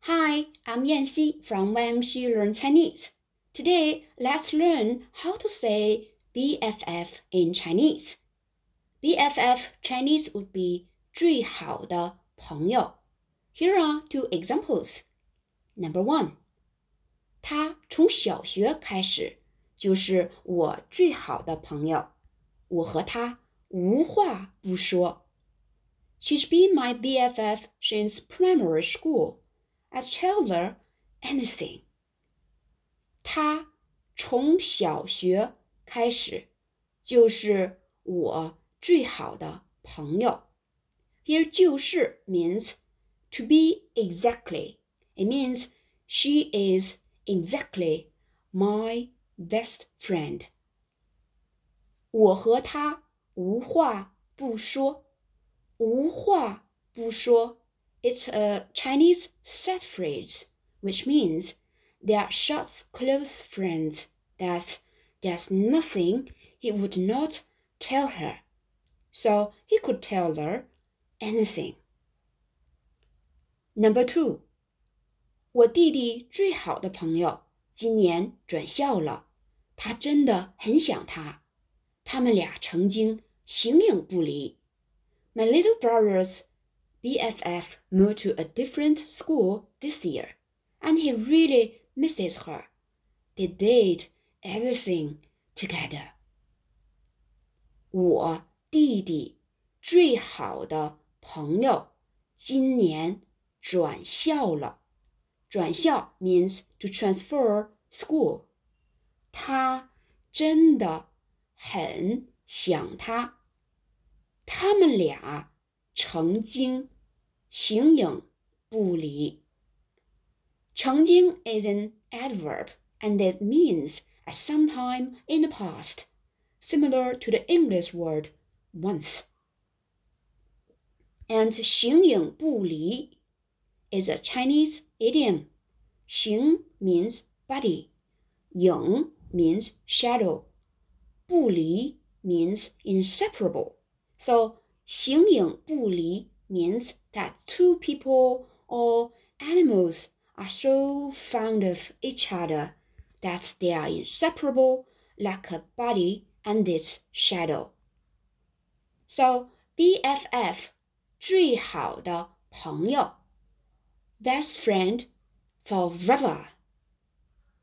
Hi, I'm Yanxi from YMC Learn Chinese. Today, let's learn how to say BFF in Chinese. BFF Chinese would be 最好的朋友. Here are two examples. Number one, 他从小学开始就是我最好的朋友，我和他无话不说。She's been my BFF since primary school.I'd tell her anything. 他从小学开始就是我最好的朋友。Here 就是 means to be exactly. It means she is exactly my best friend. 我和他无话不说。无话不说 It's a Chinese set phrase.Which means they are such close friends that there's nothing he would not tell her. So he could tell her anything. Number two, 我弟弟最好的朋友今年转校了，他真的很想他。他们俩曾经形影不离。My little brother's BFF moved to a different school this year.And he really misses her. They did everything together. 我弟弟最好的朋友今年转校了。转校 means to transfer school. 他真的很想他。他们俩曾经形影不离。曾经 is an adverb and it means at some time in the past, similar to the English word once. And 形影不离 is a Chinese idiom. 形 means body, 影 means shadow, 不离 means inseparable. So 形影不离 means that two people or animals are so fond of each other that they are inseparable like a body and its shadow. So BFF 最好的朋友 best friend forever.